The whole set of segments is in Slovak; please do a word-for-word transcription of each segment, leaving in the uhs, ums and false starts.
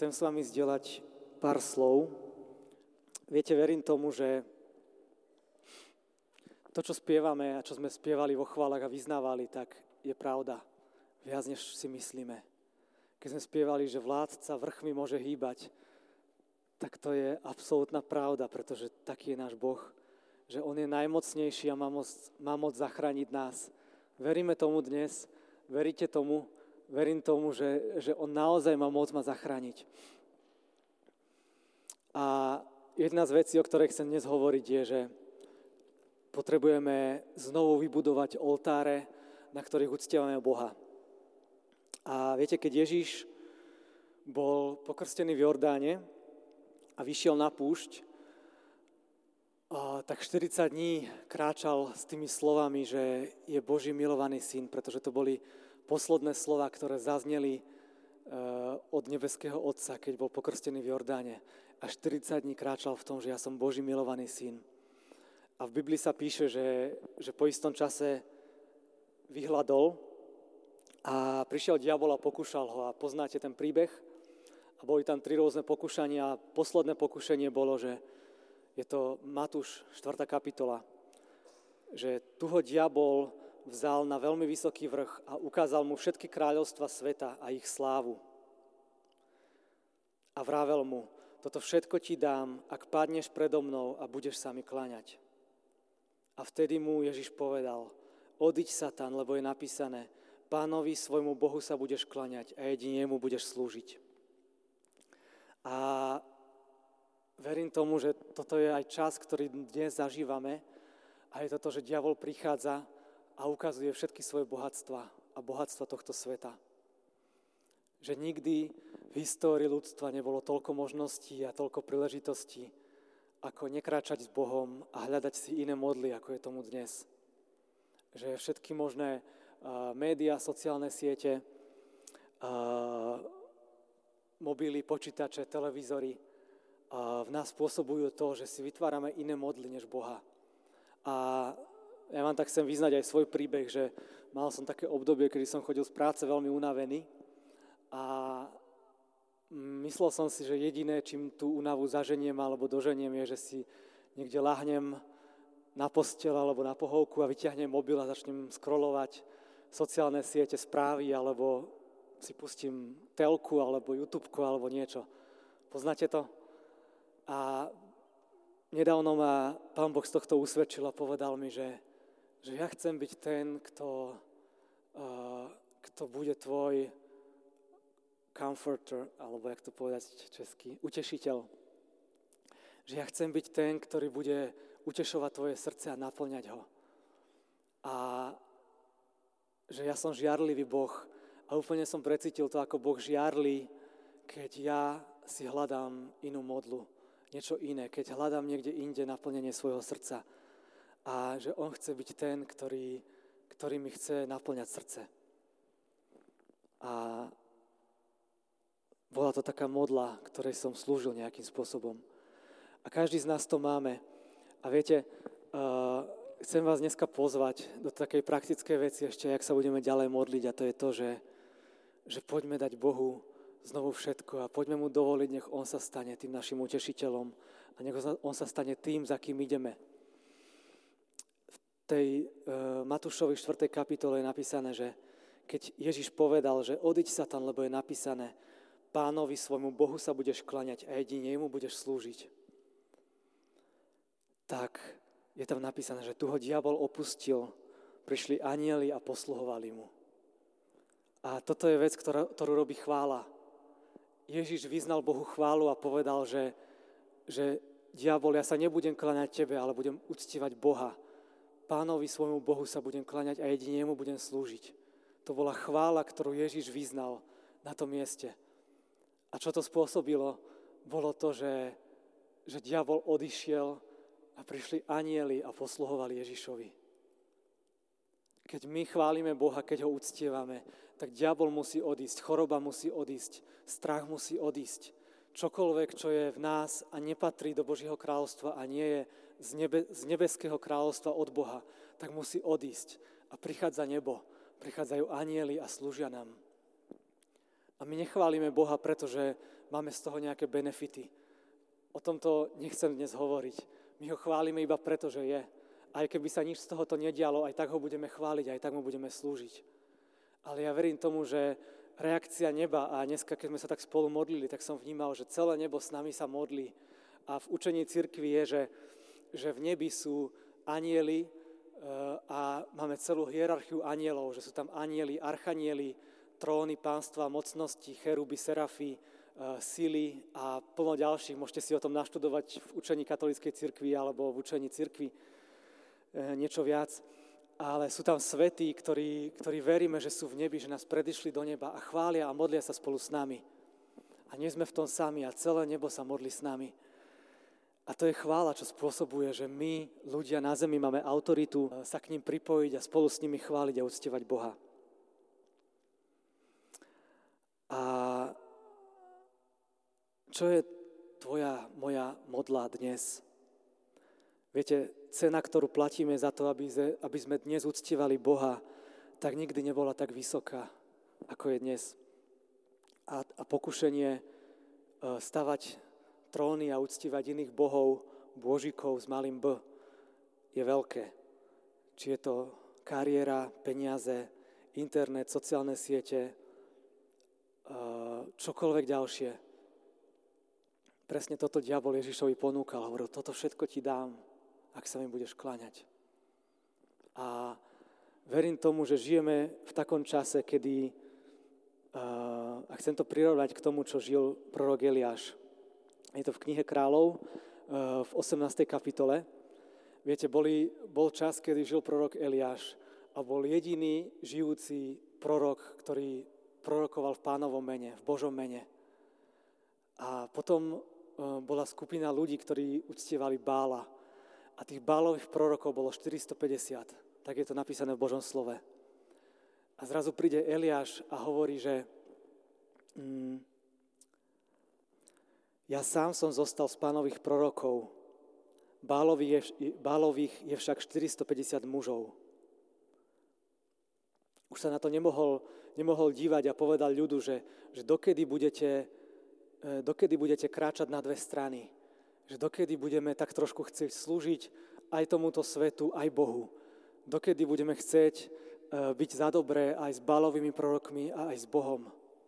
chcem s vami zdieľať pár slov. Viete, verím tomu, že to, čo spievame a čo sme spievali vo chválach a vyznávali, tak je pravda. Viac, než si myslíme. Keď sme spievali, že vládca vrchmi môže hýbať, tak to je absolútna pravda, pretože taký je náš Boh, že On je najmocnejší a má moc, má moc zachrániť nás. Veríme tomu dnes, veríte tomu, verím tomu, že, že On naozaj má moc ma zachrániť. A jedna z vecí, o ktorej chcem dnes hovoriť, je, že potrebujeme znovu vybudovať oltáre, na ktorých uctievame Boha. A viete, keď Ježiš bol pokrstený v Jordáne a vyšiel na púšť, tak štyridsať dní kráčal s tými slovami, že je Boží milovaný syn, pretože to boli posledné slova, ktoré zazneli od nebeského Otca, keď bol pokrstený v Jordáne. A štyridsať dní kráčal v tom, že ja som Boží milovaný syn. A v Biblii sa píše, že, že po istom čase vyhladol a prišiel diabol a pokúšal ho. A poznáte ten príbeh? A boli tam tri rôzne pokúšania. A posledné pokúšanie bolo, že je to Matúš štvrtá kapitola, že tu ho diabol vzal na veľmi vysoký vrch a ukázal mu všetky kráľovstva sveta a ich slávu. A vravel mu, toto všetko ti dám, ak padneš predo mnou a budeš sa mi kláňať. A vtedy mu Ježiš povedal, odiď Satan, lebo je napísané, Pánovi svojmu Bohu sa budeš kláňať a jedine mu budeš slúžiť. A verím tomu, že toto je aj čas, ktorý dnes zažívame a je to to, že diabol prichádza a ukazuje všetky svoje bohatstva a bohatstva tohto sveta. Že nikdy v histórii ľudstva nebolo toľko možností a toľko príležitostí, ako nekráčať s Bohom a hľadať si iné modly, ako je tomu dnes. Že všetky možné uh, médiá, sociálne siete, uh, mobily, počítače, televízory uh, v nás spôsobujú to, že si vytvárame iné modly než Boha. A ja vám tak chcem vyznať aj svoj príbeh, že mal som také obdobie, kedy som chodil z práce veľmi unavený a myslel som si, že jediné, čím tú únavu zaženiem alebo doženiem, je, že si niekde lahnem na posteľ alebo na pohovku a vyťahnem mobil a začnem scrollovať sociálne siete, správy alebo si pustím telku alebo YouTubeku alebo niečo. Poznáte to? A nedávno ma Pán Boh z tohto usvedčil a povedal mi, že, že ja chcem byť ten, kto, uh, kto bude tvoj comforter, alebo jak to povedať česky, utešiteľ. Že ja chcem byť ten, ktorý bude utešovať tvoje srdce a naplňať ho. A že ja som žiarlivý Boh a úplne som precítil to, ako Boh žiarli, keď ja si hľadám inú modlu, niečo iné, keď hľadám niekde inde naplnenie svojho srdca. A že on chce byť ten, ktorý, ktorý mi chce naplňať srdce. A bola to taká modla, ktorej som slúžil nejakým spôsobom. A každý z nás to máme. A viete, uh, chcem vás dneska pozvať do takej praktickej veci ešte, jak sa budeme ďalej modliť. A to je to, že, že poďme dať Bohu znovu všetko a poďme mu dovoliť, nech on sa stane tým našim utešiteľom a nech on sa stane tým, za kým ideme. V tej uh, Matúšovi štvrtej kapitole je napísané, že keď Ježiš povedal, že odiď Satan, lebo je napísané, Pánovi svojmu Bohu sa budeš kláňať a jedine mu budeš slúžiť. Tak je tam napísané, že tu ho diabol opustil, prišli anjeli a posluhovali mu. A toto je vec, ktorá, ktorú robí chvála. Ježiš vyznal Bohu chválu a povedal, že, že diabol, ja sa nebudem kláňať tebe, ale budem uctievať Boha. Pánovi svojmu Bohu sa budem kláňať a jedine mu budem slúžiť. To bola chvála, ktorú Ježiš vyznal na tom mieste. A čo to spôsobilo? Bolo to, že, že diabol odišiel a prišli anjeli a posluhovali Ježišovi. Keď my chválime Boha, keď ho uctievame, tak diabol musí odísť, choroba musí odísť, strach musí odísť. Čokoľvek, čo je v nás a nepatrí do Božieho kráľovstva a nie je z, nebe, z nebeského kráľovstva od Boha, tak musí odísť. A prichádza nebo, prichádzajú anjeli a slúžia nám. A my nechválime Boha, pretože máme z toho nejaké benefity. O tomto nechcem dnes hovoriť. My ho chválime iba preto, že je. Aj keby sa nič z tohoto nedialo, aj tak ho budeme chváliť, aj tak mu budeme slúžiť. Ale ja verím tomu, že reakcia neba, a dneska, keď sme sa tak spolu modlili, tak som vnímal, že celé nebo s nami sa modlí. A v učení cirkvi je, že, že v nebi sú anjeli a máme celú hierarchiu anjelov, že sú tam anjeli, archanieli, tróny, pánstva, mocnosti, cheruby, serafy, sily a plno ďalších. Môžete si o tom naštudovať v učení katolíckej cirkvi alebo v učení cirkvi niečo viac. Ale sú tam svätí, ktorí, ktorí veríme, že sú v nebi, že nás predišli do neba a chvália a modlia sa spolu s nami. A nie sme v tom sami a celé nebo sa modlí s nami. A to je chvála, čo spôsobuje, že my, ľudia na zemi, máme autoritu sa k ním pripojiť a spolu s nimi chváliť a uctievať Boha. A čo je tvoja, moja modla dnes? Viete, cena, ktorú platíme za to, aby sme, aby sme dnes uctievali Boha, tak nikdy nebola tak vysoká, ako je dnes. A, a pokušenie stavať tróny a uctievať iných bohov, božíkov s malým B, je veľké. Či je to kariéra, peniaze, internet, sociálne siete, čokoľvek ďalšie. Presne toto diabol Ježišovi ponúkal. Hovoril, toto všetko ti dám, ak sa mi budeš kláňať. A verím tomu, že žijeme v takom čase, kedy, a chcem to prirovnať k tomu, čo žil prorok Eliáš. Je to v knihe Kráľov v osemnástej kapitole. Viete, boli, bol čas, kedy žil prorok Eliáš a bol jediný žijúci prorok, ktorý prorokoval v Pánovom mene, v Božom mene. A potom bola skupina ľudí, ktorí uctievali Bála. A tých Bálových prorokov bolo štyristopäťdesiat. Tak je to napísané v Božom slove. A zrazu príde Eliáš a hovorí, že mm, ja sám som zostal z Pánových prorokov. Bálových je, Bálových je však štyristopäťdesiat mužov. Už sa na to nemohol, nemohol dívať a povedal ľudu, že, že dokedy, budete, dokedy budete kráčať na dve strany. Že dokedy budeme tak trošku chcieť slúžiť aj tomuto svetu, aj Bohu. Dokedy budeme chcieť byť za dobré aj s Bálovými prorokmi a aj s Bohom.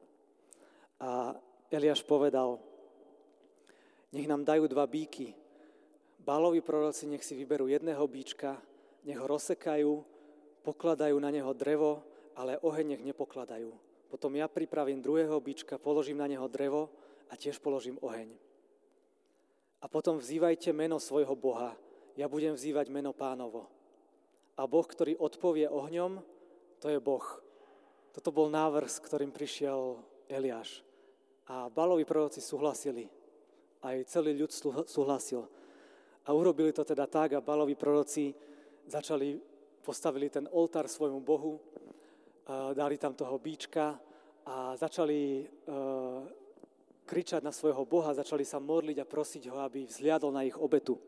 A Eliáš povedal, nech nám dajú dva bíky. Bálovi proroci nech si vyberú jedného bíčka, nech ho rozsekajú, pokladajú na neho drevo, ale oheň nech nepokladajú. Potom ja pripravím druhého bička, položím na neho drevo a tiež položím oheň. A potom vzývajte meno svojho Boha, ja budem vzývať meno Pánovo. A Boh, ktorý odpovie ohňom, to je Boh. Toto bol návrh, s ktorým prišiel Eliáš. A Bálovi proroci súhlasili. Aj celý ľud súhlasil. A urobili to teda tak a Bálovi proroci začali, postavili ten oltár svojmu Bohu, dali tam toho bíčka a začali kričať na svojho Boha, začali sa modliť a prosiť ho, aby vzliadol na ich obetu.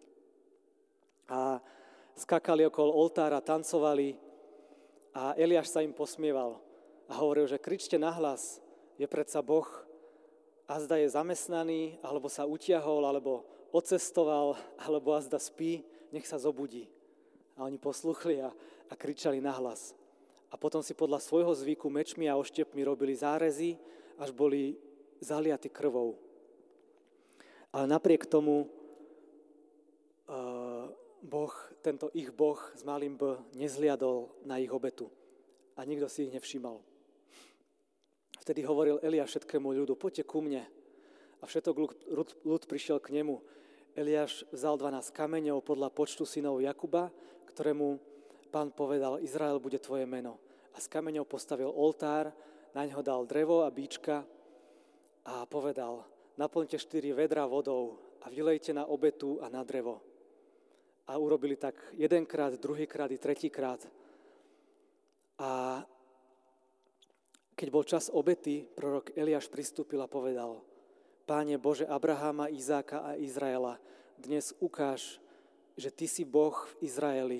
A skakali okolo oltára, tancovali a Eliáš sa im posmieval a hovoril, že kričte nahlas, je predsa Boh, azda je zamestnaný, alebo sa utiahol, alebo odcestoval, alebo azda spí, nech sa zobudí. A oni posluchli a, a kričali nahlas. A potom si podľa svojho zvyku mečmi a oštepmi robili zárezy, až boli zaliaty krvou. Ale napriek tomu uh, Boh, tento ich Boh s malým B nezliadol na ich obetu. A nikto si ich nevšímal. Vtedy hovoril Eliáš všetkému ľudu, poďte ku mne. A všetok ľud, ľud prišiel k nemu. Eliáš vzal dvanásť kameňov podľa počtu synov Jakuba, ktorému Pán povedal, Izrael bude tvoje meno. A z kameňov postavil oltár, na ňo dal drevo a bíčka a povedal, naplňte štyri vedra vodou a vylejte na obetu a na drevo. A urobili tak jedenkrát, druhýkrát i tretíkrát. A keď bol čas obety, prorok Eliáš pristúpil a povedal, Páne Bože Abraháma, Izáka a Izraela, dnes ukáž, že Ty si Boh v Izraeli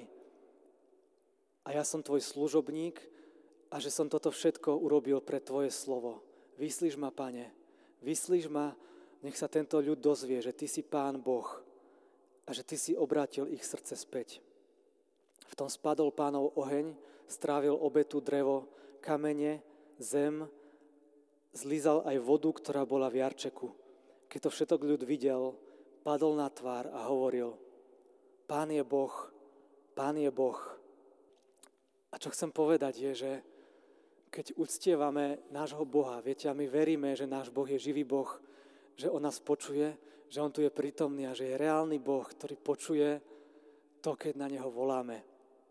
a ja som Tvoj služobník a že som toto všetko urobil pre Tvoje slovo. vyslíš ma, Pane, vyslíš ma, nech sa tento ľud dozvie, že Ty si Pán Boh a že Ty si obrátil ich srdce späť. V tom spadol Pánov oheň, strávil obetu, drevo, kamene, zem, zlízal aj vodu, ktorá bola v jarčeku. Keď to všetok ľud videl, padol na tvár a hovoril: Pán je Boh, Pán je Boh. A čo chcem povedať je, že keď uctievame nášho Boha, viete, a my veríme, že náš Boh je živý Boh, že on nás počuje, že on tu je prítomný a že je reálny Boh, ktorý počuje to, keď na neho voláme.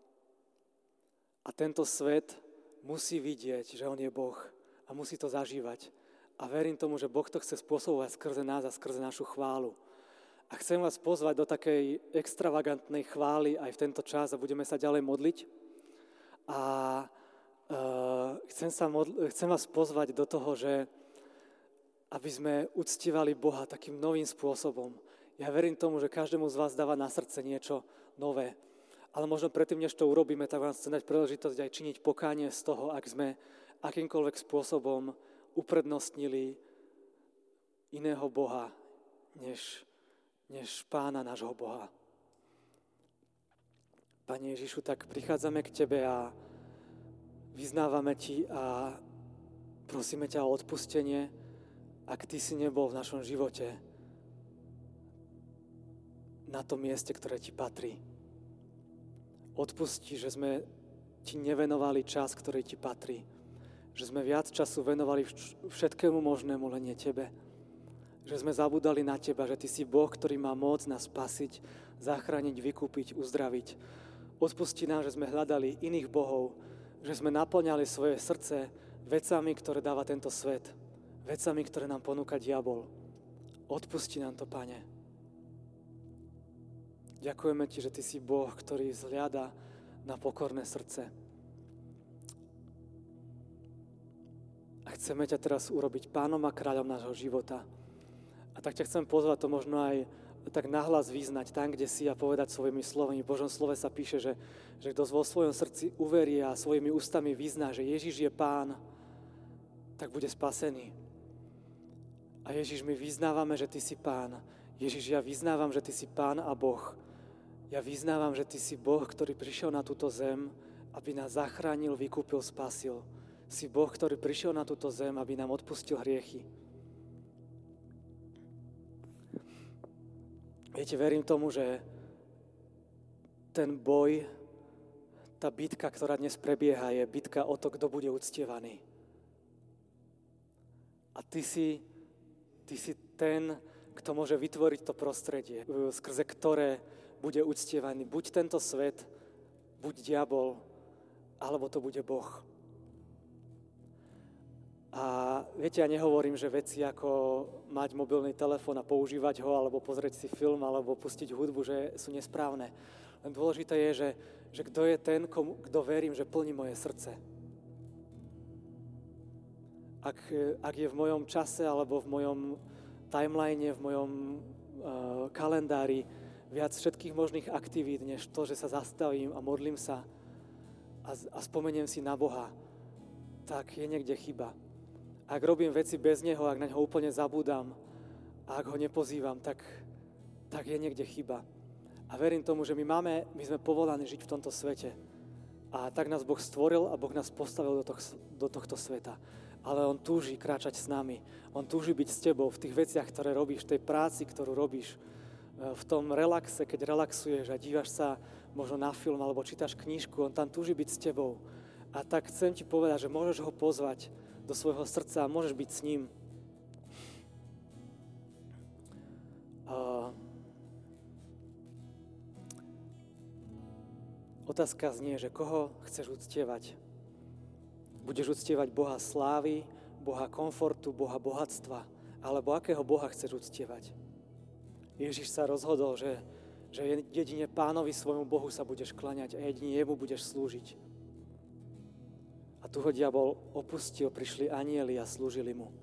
A tento svet musí vidieť, že on je Boh a musí to zažívať. A verím tomu, že Boh to chce spôsobovať skrze nás a skrze našu chválu. A chcem vás pozvať do takej extravagantnej chvály aj v tento čas a budeme sa ďalej modliť. A uh, chcem, sa modl- chcem vás pozvať do toho, že aby sme uctívali Boha takým novým spôsobom. Ja verím tomu, že každému z vás dáva na srdce niečo nové. Ale možno predtým, než to urobíme, tak vám chcem dať príležitosť aj činiť pokánie z toho, ak sme akýmkoľvek spôsobom uprednostnili iného Boha, než, než Pána nášho Boha. Pane Ježišu, tak prichádzame k Tebe a vyznávame Ti a prosíme ťa o odpustenie, ak Ty si nebol v našom živote na tom mieste, ktoré Ti patrí. Odpusti, že sme Ti nevenovali čas, ktorý Ti patrí. Že sme viac času venovali všetkému možnému, len nie Tebe. Že sme zabudali na Teba, že Ty si Boh, ktorý má moc nás spasiť, zachrániť, vykúpiť, uzdraviť. Odpusti nám, že sme hľadali iných bohov, že sme naplňali svoje srdce vecami, ktoré dáva tento svet. Vecami, ktoré nám ponúka diabol. Odpusti nám to, Pane. Ďakujeme Ti, že Ty si Boh, ktorý zhliada na pokorné srdce. A chceme ťa teraz urobiť pánom a kráľom nášho života. A tak ťa chcem pozvať to možno aj tak nahlas vyznať tam, kde si a povedať svojimi slovami. V Božom slove sa píše, že, že kto vo svojom srdci uverí a svojimi ústami vyzná, že Ježiš je Pán, tak bude spasený. A Ježiš, my vyznávame, že Ty si Pán. Ježiš, ja vyznávam, že Ty si Pán a Boh. Ja vyznávam, že Ty si Boh, ktorý prišiel na túto zem, aby nás zachránil, vykúpil, spasil. Si Boh, ktorý prišiel na túto zem, aby nám odpustil hriechy. Viete, verím tomu, že ten boj, tá bitka, ktorá dnes prebieha, je bitka o to, kto bude uctievaný. A Ty si Ty si ten, kto môže vytvoriť to prostredie, skrze ktoré bude uctievaný buď tento svet, buď diabol, alebo to bude Boh. A viete, ja nehovorím, že veci ako mať mobilný telefón a používať ho, alebo pozrieť si film, alebo pustiť hudbu, že sú nesprávne. Len dôležité je, že, že kto je ten, komu, kto verím, že plní moje srdce. Ak, ak je v mojom čase alebo v mojom timeline, v mojom uh, kalendári viac všetkých možných aktivít, než to, že sa zastavím a modlím sa a, a spomeniem si na Boha, tak je niekde chyba. Ak robím veci bez Neho, ak na Neho úplne zabúdam a ak Ho nepozývam, tak, tak je niekde chyba. A verím tomu, že my máme, my sme povolaní žiť v tomto svete. A tak nás Boh stvoril a Boh nás postavil do, toh, do tohto sveta. Ale on túži kráčať s nami. On túži byť s tebou v tých veciach, ktoré robíš, v tej práci, ktorú robíš, v tom relaxe, keď relaxuješ a dívaš sa možno na film alebo čítaš knížku, on tam túži byť s tebou. A tak chcem ti povedať, že môžeš ho pozvať do svojho srdca a môžeš byť s ním. Uh, otázka znie, že koho chceš uctievať? Budeš uctievať Boha slávy, Boha komfortu, Boha bohatstva, alebo akého Boha chceš uctievať? Ježiš sa rozhodol, že, že jedine Pánovi svojmu Bohu sa budeš klaňať a jedine jemu budeš slúžiť. A tu ho diabol opustil, prišli anjeli a slúžili mu.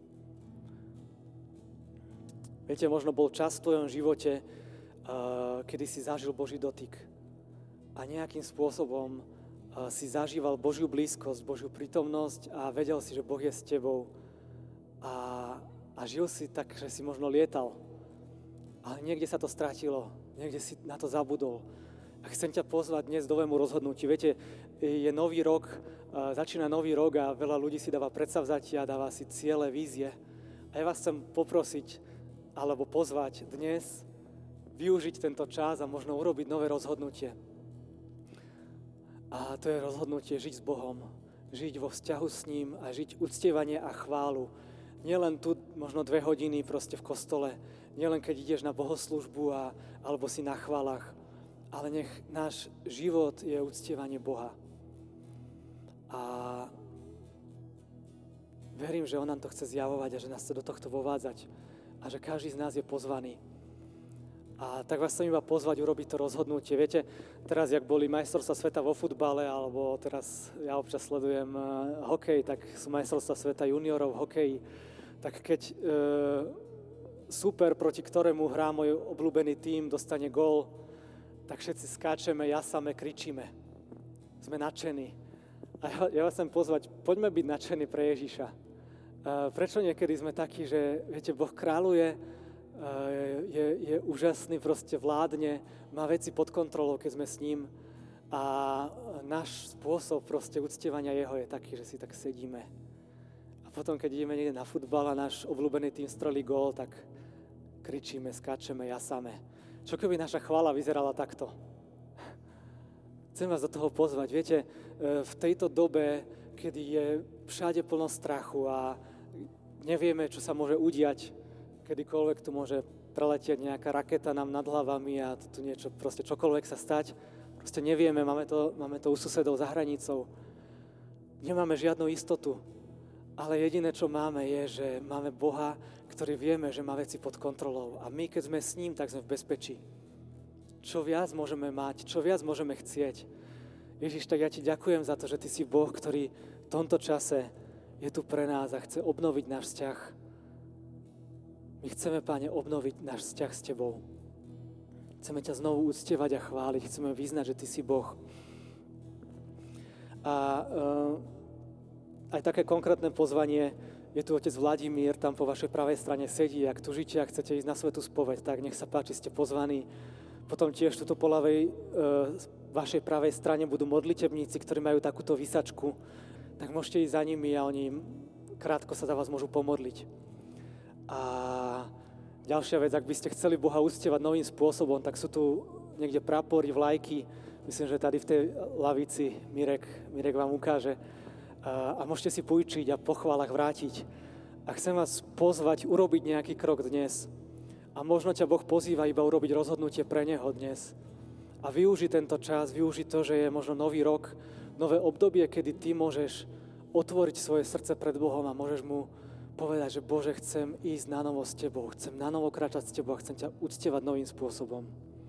Viete, možno bol čas v tvojom živote, uh, kedy si zažil Boží dotyk a nejakým spôsobom si zažíval Božiu blízkosť, Božiu prítomnosť a vedel si, že Boh je s tebou a, a žil si tak, že si možno lietal. Ale niekde sa to stratilo, niekde si na to zabudol. A chcem ťa pozvať dnes do novému rozhodnutiu. Viete, je nový rok, začína nový rok a veľa ľudí si dáva predsavzatia, dáva si ciele, vízie. A ja vás chcem poprosiť, alebo pozvať dnes, využiť tento čas a možno urobiť nové rozhodnutie. A to je rozhodnutie žiť s Bohom, žiť vo vzťahu s ním a žiť uctievanie a chválu. Nielen tu možno dve hodiny proste v kostole, nielen keď ideš na bohoslúžbu a, alebo si na chválach, ale nech náš život je uctievanie Boha. A verím, že On nám to chce zjavovať a že nás chce do tohto vovádzať a že každý z nás je pozvaný. A tak vás chcem iba pozvať urobiť to rozhodnutie. Viete, teraz, jak boli majstrovstvá sveta vo futbale, alebo teraz ja občas sledujem uh, hokej, tak sú majstrovstvá sveta juniorov v hokeji. Tak keď uh, super, proti ktorému hrá môj obľúbený tím, dostane gól, tak všetci skáčeme, jasame, kričíme. Sme nadšení. A ja, ja vás chcem pozvať, poďme byť nadšení pre Ježiša. Uh, prečo niekedy sme takí, že viete, Boh kráľuje, Je, je úžasný, proste vládne, má veci pod kontrolou, keď sme s ním a náš spôsob proste uctievania jeho je taký, že si tak sedíme. A potom, keď ideme niekde na futbal a náš obľúbený tým strelí gól, tak kričíme, skáčeme, jasáme. Čo keby naša chvála vyzerala takto? Chcem vás do toho pozvať. Viete, v tejto dobe, kedy je všade plno strachu a nevieme, čo sa môže udiať, kedykoľvek tu môže preletieť nejaká raketa nám nad hlavami a tu niečo, proste čokoľvek sa stať. Proste nevieme, máme to, máme to u susedov za hranicou. Nemáme žiadnu istotu, ale jediné, čo máme, je, že máme Boha, ktorý vieme, že má veci pod kontrolou. A my, keď sme s ním, tak sme v bezpečí. Čo viac môžeme mať, čo viac môžeme chcieť. Ježiš, tak ja ti ďakujem za to, že ty si Boh, ktorý v tomto čase je tu pre nás a chce obnoviť náš vzťah. My chceme, Páne, obnoviť náš vzťah s Tebou. Chceme ťa znovu uctievať a chváliť. Chceme vyznať, že Ty si Boh. A uh, aj také konkrétne pozvanie, je tu otec Vladimír, tam po vašej pravej strane sedí. Ak tužíte a chcete ísť na svätú spoveď, tak nech sa páči, ste pozvaní. Potom tiež tuto po ľavej, uh, vašej pravej strane budú modlitebníci, ktorí majú takúto vysačku. Tak môžete ísť za nimi a oni krátko sa za vás môžu pomodliť. A ďalšia vec, ak by ste chceli Boha uctievať novým spôsobom, tak sú tu niekde prapory, vlajky. Myslím, že tady v tej lavici Mirek, Mirek vám ukáže. A, a môžete si pôjčiť a po chválach vrátiť. A chcem vás pozvať urobiť nejaký krok dnes. A možno ťa Boh pozýva iba urobiť rozhodnutie pre Neho dnes. A využiť tento čas, využiť to, že je možno nový rok, nové obdobie, kedy ty môžeš otvoriť svoje srdce pred Bohom a môžeš mu povedať, že Bože, chcem ísť na novo s Tebou, chcem na novo kráčať s Tebou a chcem ťa uctievať novým spôsobom.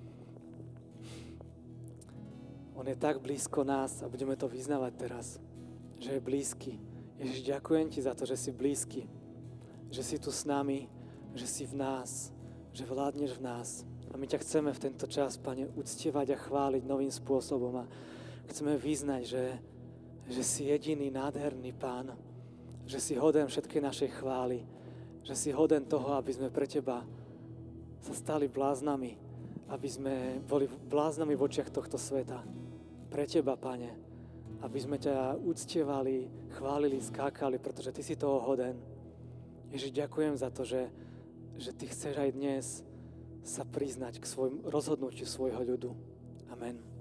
On je tak blízko nás a budeme to vyznávať teraz, že je blízky. Ježiš, ďakujem Ti za to, že si blízky, že si tu s nami, že si v nás, že vládneš v nás. A my ťa chceme v tento čas, Pane, uctievať a chváliť novým spôsobom a chceme vyznať, že, že si jediný nádherný Pán, že si hoden všetkej našej chvály, že si hoden toho, aby sme pre Teba sa stali bláznami, aby sme boli bláznami v očiach tohto sveta. Pre Teba, Pane, aby sme ťa uctievali, chválili, skákali, pretože Ty si toho hoden. Ježiš, ďakujem za to, že, že Ty chceš aj dnes sa priznať k svojmu rozhodnutiu svojho ľudu. Amen.